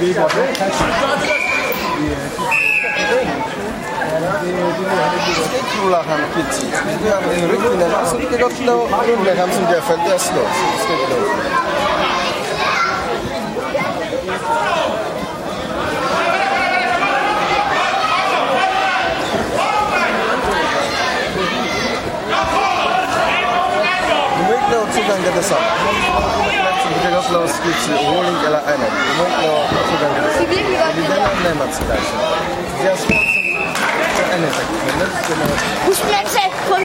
Skateboarderen Kitty. Det er en ryggen af, så det kan godt lave rundt med ham, som der faldt der slå. Du må ikke lave 2 gange det samme. Du kan godt lave skidt til rolling eller andet. Du må ikke lave 2 gange det samme. Fordi den er nemmere til dig. Det er småt som andet. Husk